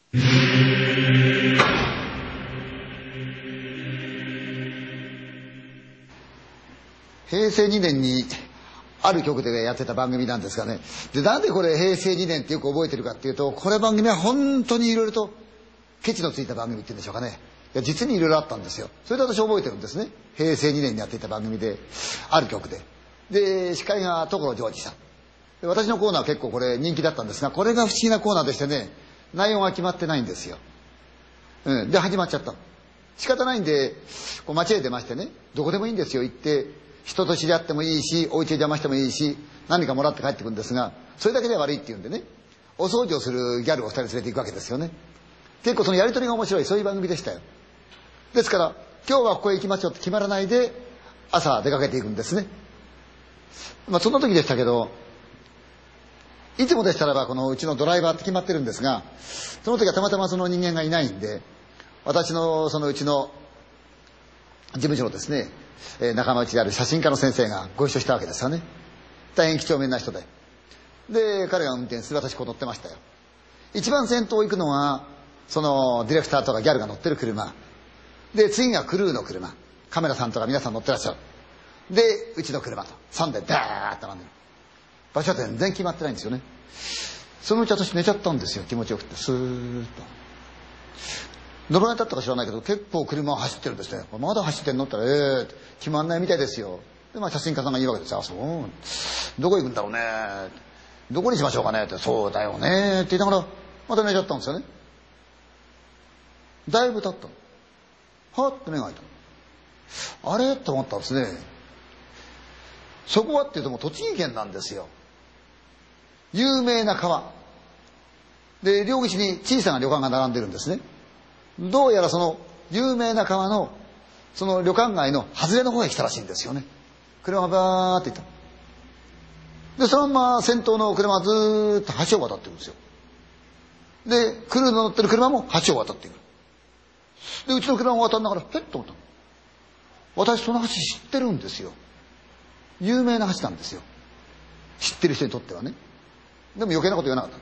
平成2年にある局でやってた番組なんですがね。で、なんでこれ平成2年ってよく覚えてるかっていうと、これ番組は本当にいろいろとケチのついた番組っていうんでしょうかね。いや、実にいろいろあったんですよ。それで私覚えてるんですね。平成2年にやっていた番組で、ある局で。で、司会が所ジョージさん。で、私のコーナーは結構これ人気だったんですが、これが不思議なコーナーでしてね、内容が決まってないんですよ。で、始まっちゃったの。仕方ないんで、こう街へ出ましてね、どこでもいいんですよ、行って、人と知り合ってもいいし、お家で邪魔してもいいし、何かもらって帰ってくるんですが、それだけでは悪いって言うんでね、お掃除をするギャルを2人連れて行くわけですよね。結構そのやりとりが面白い、そういう番組でしたよ。ですから、今日はここへ行きましょうって決まらないで、朝出かけていくんですね。そんな時でしたけど、いつもでしたらばこのうちのドライバーって決まってるんですが、その時はたまたまその人間がいないんで、私のそのうちの事務所のですね、仲間内である写真家の先生がご一緒したわけですよね。大変几帳面な人で。で、彼が運転する、私こう乗ってましたよ。一番先頭行くのは、そのディレクターとかギャルが乗ってる車。で、次がクルーの車。カメラさんとか皆さん乗ってらっしゃる。で、うちの車と。3台ダーッと並んでる。場所は全然決まってないんですよね。そのうち私寝ちゃったんですよ、気持ちよくて。スーッと。どのぐらい経ったか知らないけど、結構車は走ってるんですね。まだ走ってんのって言ったら、決まんないみたいですよ。で、写真家さんが言うわけですよ。あ、そう。どこ行くんだろうね。どこにしましょうかねって。そうだよね。って言いながら、また寝ちゃったんですよね。だいぶ経ったの。はって目が開いた。あれと思ったんですね。そこはっていうともう栃木県なんですよ。有名な川。で、両岸に小さな旅館が並んでるんですね。どうやらその有名な川のその旅館街の外れの方へ来たらしいんですよね。車がバーって行った。で、そのまま先頭の車はずーっと橋を渡っていくんですよ。で、クルーの乗ってる車も橋を渡っていく。で、うちの車を渡りながら、ペッと思ったの。私その橋知ってるんですよ。有名な橋なんですよ。知ってる人にとってはね。でも余計なこと言わなかった。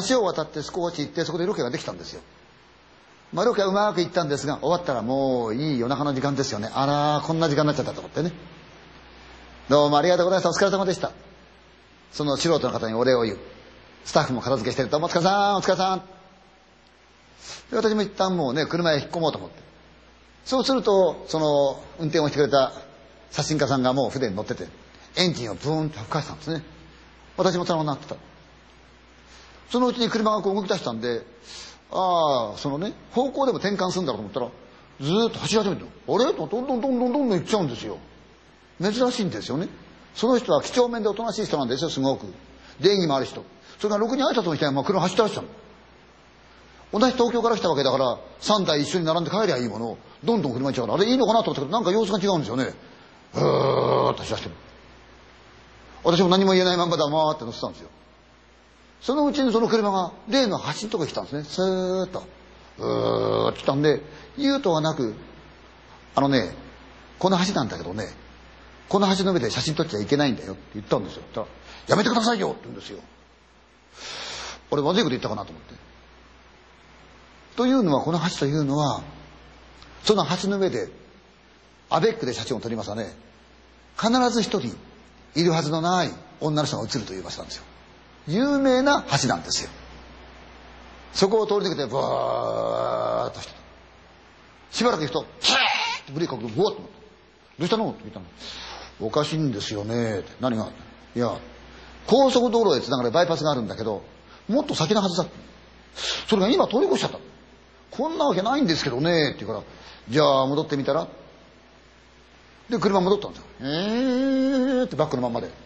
橋を渡って少し行って、そこでロケができたんですよ。ロケはうまくいったんですが、終わったらもういい夜中の時間ですよね。あら、こんな時間になっちゃったと思ってね。どうもありがとうございました。お疲れ様でした。その素人の方にお礼を言う。スタッフも片付けしてると、お疲れさん、お疲れさん。で、私も一旦もうね、車へ引っ込もうと思って。そうすると、その運転をしてくれた写真家さんがもう船に乗ってて、エンジンをブーンと吹かしたんですね。私もそのままなってた。そのうちに車がこう動き出したんで、そのね、方向でも転換するんだろうと思ったら、ずーっと走り始めてる。あれとどんどん行っちゃうんですよ。珍しいんですよね。その人は几帳面でおとなしい人なんですよ、すごく。礼儀もある人。それからろくに挨拶もしてない、車走ってらっしゃる。同じ東京から来たわけだから、3台一緒に並んで帰りゃいいものを、どんどん車行っちゃうから、あれいいのかなと思ったけど、なんか様子が違うんですよね。と走らせてる。私も何も言えないまんま黙って乗ってたんですよ。そのうちにその車が例の橋のとこに来たんですね。スーッと。来たんで、言うとはなく、この橋なんだけどね、この橋の上で写真撮っちゃいけないんだよって言ったんですよ。言ったら、やめてくださいよって言うんですよ。俺まずいこと言ったかなと思って。というのは、この橋というのは、その橋の上で、アベックで写真を撮りますわね、必ず一人いるはずのない女の人が写るという場所なんですよ。有名な橋なんですよ。そこを通り抜けてバーッとしてた。しばらく行くとキーッとブレーキかけてブワッと思って、どうしたのって聞いたの。おかしいんですよねって。何が。いや、高速道路へつながるバイパスがあるんだけど、もっと先のはずだ。それが今通り越しちゃった。こんなわけないんですけどねって言うから、じゃあ戻ってみたら。で車戻ったんですよ。ってバックのまんまで。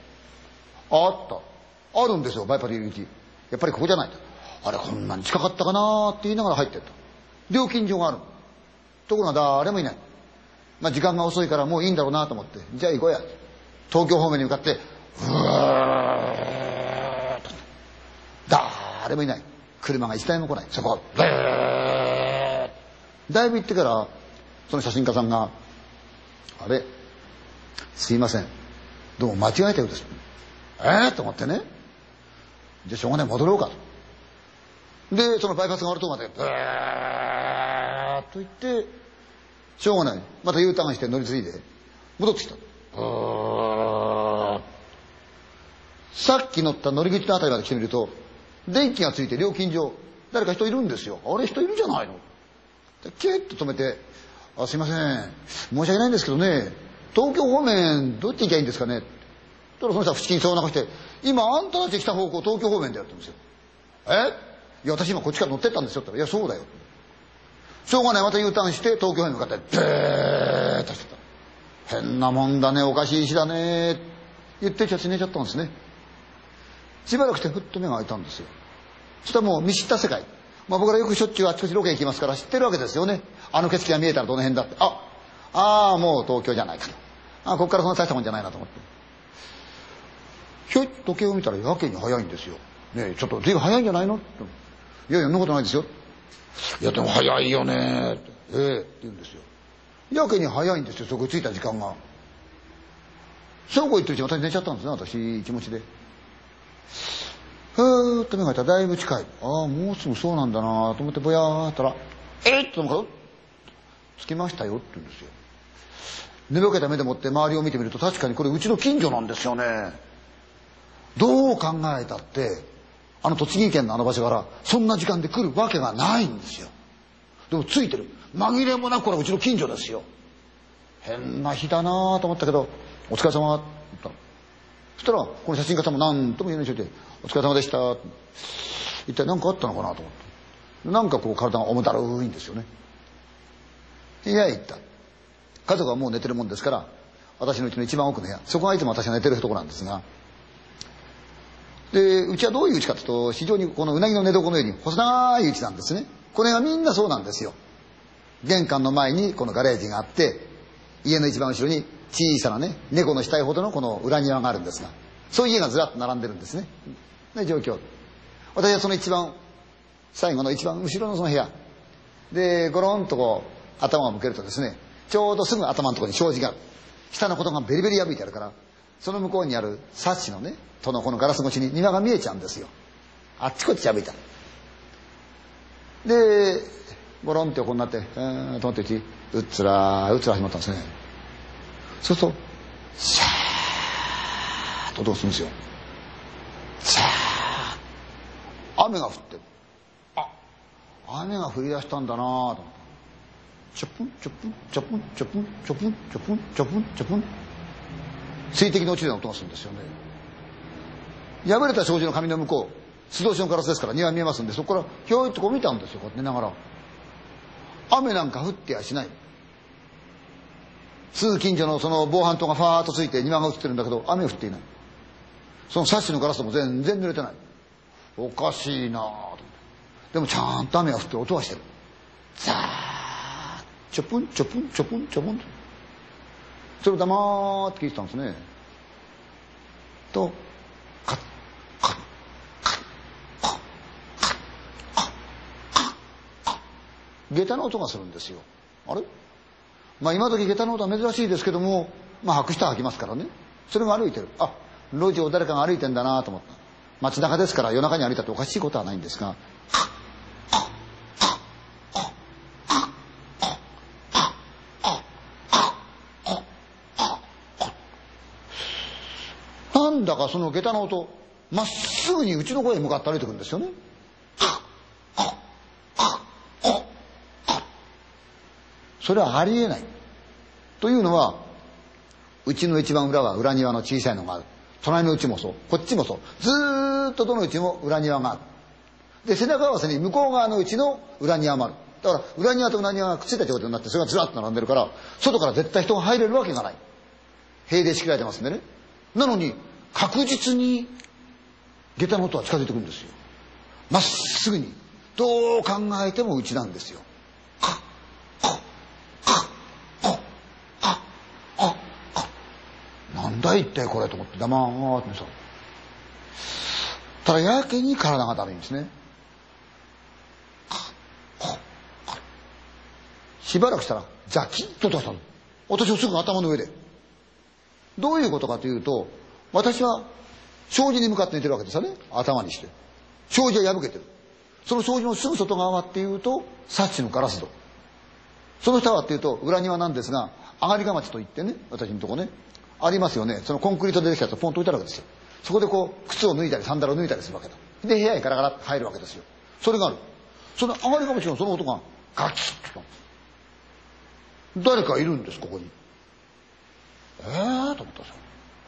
あるんですよ、バイパス入り口。やっぱりここじゃないと。あれ、こんなに近かったかなって言いながら入ってった。料金所がある。ところが誰もいない。時間が遅いからもういいんだろうなと思って、じゃあ行こうや。東京方面に向かって、ふーっと。誰もいない。車が一台も来ない。そこ、だいぶ行ってから、その写真家さんが、あれ、すいません。どうも間違えたようです。と思ってね。じゃあしょうがない、戻ろうかと。 でそのバイパスが終わるとこまでブーッと行って、しょうがない、また U ターンして乗り継いで戻ってきた。さっき乗った乗り口のあたりまで来てみると、電気がついて料金所誰か人いるんですよ。あれ人いるじゃないの。でキュッと止めて、あ、すいません、申し訳ないんですけどね、東京方面どっち行きゃいいんですかね。そしたらその人は不思議にそうな顔して、今あんたたち来た方向東京方面でやってるんですよ。いや私今こっちから乗ってったんですよって言ったら、いやそうだよ。しょうがない、また U ターンして東京方面に向かってブーッとしてた。変なもんだね、おかしい石だね言ってちゃ寝ちゃったんですね。しばらくしてふっと目が開いたんですよ。そしたらもう見知った世界、僕らよくしょっちゅうあちこちロケ行きますから知ってるわけですよね。あの景色が見えたらどの辺だって、もう東京じゃないかと、ここからそんな大したもんじゃないなと思って、ひょいっと時計を見たらやけに早いんですよ。ねえちょっと随分早いんじゃないのって、いやいやそんなことないですよ。いやでも早いよねって、って言うんですよ。やけに早いんですよ、そこに着いた時間が。そうこう言ってるうちに私寝ちゃったんですね、私気持ちで。ふーっと目が開いたらだいぶ近い。もうすぐそうなんだなと思ってぼやーったら、っとなんか着きましたよって言うんですよ。寝ぼけた目でもって周りを見てみると、確かにこれうちの近所なんですよね。どう考えたって栃木県のあの場所からそんな時間で来るわけがないんですよ。でもついてる、紛れもなくこれうちの近所ですよ。変な日だなと思ったけど、お疲れ様って言ったの。そしたらこの写真家さんも何とも言えない人で、お疲れ様でした、一体何かあったのかなと思って、なんかこう体が重だるいんですよね。部屋へ行った。家族はもう寝てるもんですから、私のうちの一番奥の部屋、そこがいつも私が寝てるところなんですが、でうちはどういう家かというと、非常にこのうなぎの寝床のように細長い家なんですね。これがみんなそうなんですよ。玄関の前にこのガレージがあって、家の一番後ろに小さなね、猫の額ほどのこの裏庭があるんですが、そういう家がずらっと並んでるんですね。で状況、私はその一番最後の一番後ろのその部屋でゴロンとこう頭を向けるとですね、ちょうどすぐ頭のところに障子がある。下のことがベリベリ破いてあるから、その向こうにあるサッシのねとのこのガラス越しに庭が見えちゃうんですよ。あっちこっち破いた。でゴロンって横になってと思ってうちうっつらうっつら始まったんですね。そうするとシャーッと音がするんですよ。シャーッ、雨が降ってる。雨が降り出したんだなと思った。ちょぷんちょぷんちょぷんちょぷんちょぷんちょぷんちょぷんちょぷん、水滴の落ちるような音がするんですよね。破れた障子の紙の向こう、素通しのガラスですから庭見えますんで、そこからひょいっとこう見たんですよ、こうやって寝ながら。雨なんか降ってやしない。すぐ近所のその防犯灯がファーッとついて庭が映ってるんだけど、雨降っていない。そのサッシのガラスも全然濡れてない。おかしいなぁと思って。でもちゃんと雨が降って音はしてる。ザーッちょぷんちょぷんちょぷんちょぷんと、それを黙って聞いてたんですね。とカッカッカッカッカッカッカッカッ、下駄の音がするんですよ。あれ、今時下駄の音は珍しいですけども、履く人は履きますからね。それが歩いてる。路地を誰かが歩いてんだなと思った。街中ですから夜中に歩いたっておかしいことはないんですが、なんだかその下駄の音、まっすぐにうちの方へ向かって歩いてくるんですよね。それはありえない。というのは、うちの一番裏は裏庭の小さいのがある。隣のうちもそう、こっちもそう。ずーっとどのうちも裏庭がある。で、背中合わせに向こう側のうちの裏庭もある。だから裏庭と裏庭がくっついた状態になって、それがずらっと並んでるから、外から絶対人が入れるわけがない。塀で仕切られてますんでね。なのに確実に下駄の音は近づいてくるんですよ。まっすぐに。どう考えてもうちなんですよ。なんだ一体これと思って黙って見てたら、やけに体がだるいんですね。しばらくしたらザキッと音がしたの。私はすぐ頭の上で。どういうことかというと、私は障子に向かって寝てるわけですよね。頭にして障子は破けてる。 その障子のすぐ外側っていうとサッシのガラス戸、その下はっていうと裏庭なんですが、上がりが町といってね、私のとこねありますよね。そのコンクリートでできたやつをポンと置いてあるわけですよ。そこでこう靴を脱いだりサンダルを脱いだりするわけだ。で部屋にガラガラって入るわけですよ。それがある。その上がりが町のその音がガキッと、誰かいるんですここに。と思ったんですよ。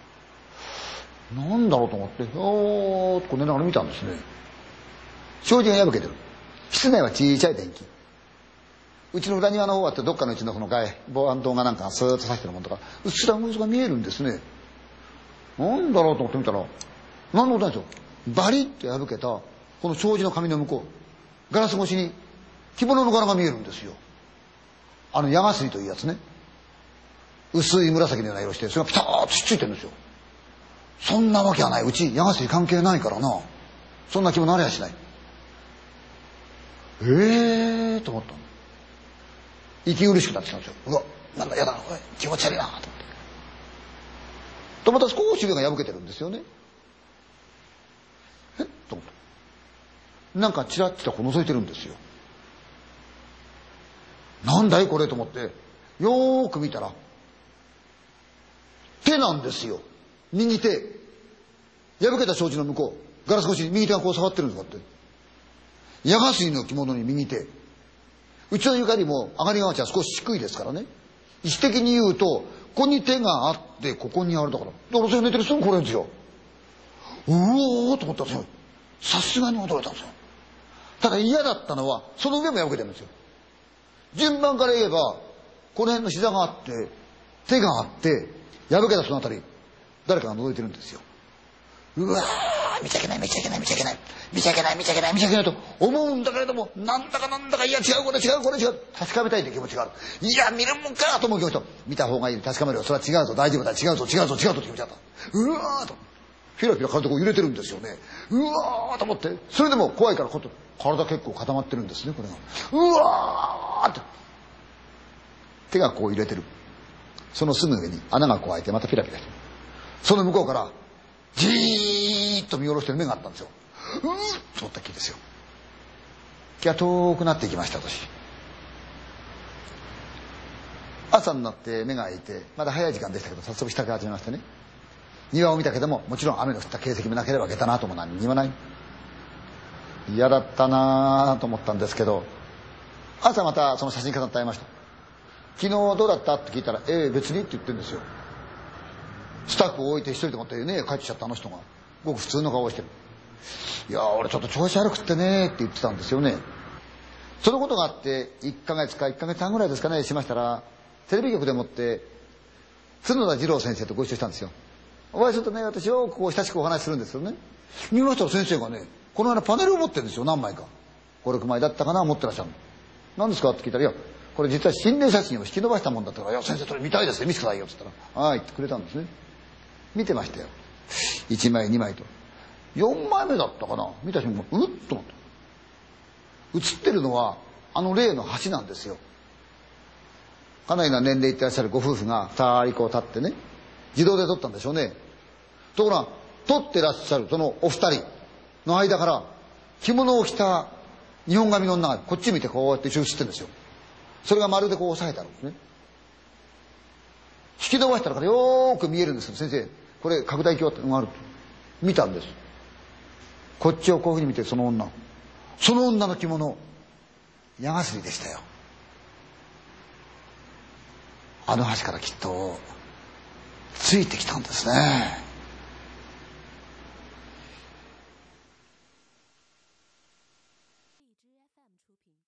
なんだろうと思っておーっとこう寝ながら見たんですね。障子が破けてる。室内は小さい電気。うちの裏庭の方はってどっかのうちのその防犯灯がなんかスーッと差してるもんとかうっすら様子が見えるんですね。なんだろうと思って見たら何のことないですよ。バリッと破けたこの障子の紙の向こう、ガラス越しに着物の柄が見えるんですよ。矢がすりというやつね。薄い紫のような色してそれがピターッとしっついてるんですよ。そんなわけはない。うち矢がすり関係ないからな。そんな着物ありゃしない。と思ったの。息苦しくなってきたんですよ。うわ、なんだやだ、気持ち悪いなと思って。とまた少し上が破けてるんですよね。と思った。なんかチラッチラこう覗いてるんですよ。なんだいこれと思ってよーく見たら手なんですよ。右手。破けた障子の向こうガラス越しに右手がこう触ってるんですかって。矢がすりの着物に右手。うちの床よりも上がりが町は少し低いですからね。位置的に言うとここに手があってここにあるだから。だからそれ寝てるすぐこれですよ。うおーと思ったんですよ。さすがに驚いたんですよ。ただ嫌だったのはその上も破けてるんですよ。順番から言えばこの辺の膝があって手があって破けたそのあたり誰かが覗いてるんですよ。うわー、見ちゃいけない見ちゃいけない見ちゃいけない見ちゃいけない見ちゃいけない見ちゃいけないと思うんだけれども、なんだかいや違うこれ違うこれ違う、確かめたいという気持ちがある。いや見るもんかと思う気持ちと、見た方がいい確かめるよ、それは違うぞ大丈夫だ違うぞ違うぞ違うぞという気持ちだった。うわーとピラピラ体こう揺れてるんですよね。うわーと思って、それでも怖いからこう体結構固まってるんですねこれが。うわーって手がこう揺れてる。そのすぐ上に穴がこう開いてまたピラピラしてる。その向こうからじーっと見下ろしてる目があったんですよ。と思ったっきりですよ。気が遠くなっていきました私。朝になって目が開いてまだ早い時間でしたけど早速支度始めましてね、庭を見たけどももちろん雨の降った形跡もなければ下駄の跡も何にもない。嫌だったなと思ったんですけど、朝またその写真家さんと会いました。昨日どうだったって聞いたら別にって言ってるんですよ。スタッフを置いて一人でもってね帰ってきちゃったあの人がごく普通の顔をしてる。いや俺ちょっと調子悪くってねって言ってたんですよね。そのことがあって1ヶ月か1ヶ月半ぐらいですかねしましたら、テレビ局でもって角田二郎先生とご一緒したんですよ。お会いするとね私よくこう親しくお話しするんですよね。見ましたら先生がねこの間パネルを持ってるんですよ。何枚か5、6枚だったかな持ってらっしゃるの。何ですかって聞いたら、いやこれ実は心霊写真を引き伸ばしたもんだったから、いや先生それ見たいですね見せてくださいよって言ったら、はいってくれたんですね。見てましたよ。1枚2枚と4枚目だったかな。見た瞬間うっと思った。写ってるのは例の橋なんですよ。かなりな年齢いってらっしゃるご夫婦が2人こう立ってね、自動で撮ったんでしょうね。ところが撮ってらっしゃるそのお二人の間から着物を着た日本髪の女がこっち見てこうやって一緒に写ってるんですよ。それがまるでこう押さえてあるんですね。引き伸ばしたらよーく見えるんですけど、先生これ拡大鏡ってのがあると見たんです。こっちをこういうふうに見てその女の着物矢がすりでしたよ。あの橋からきっとついてきたんですね。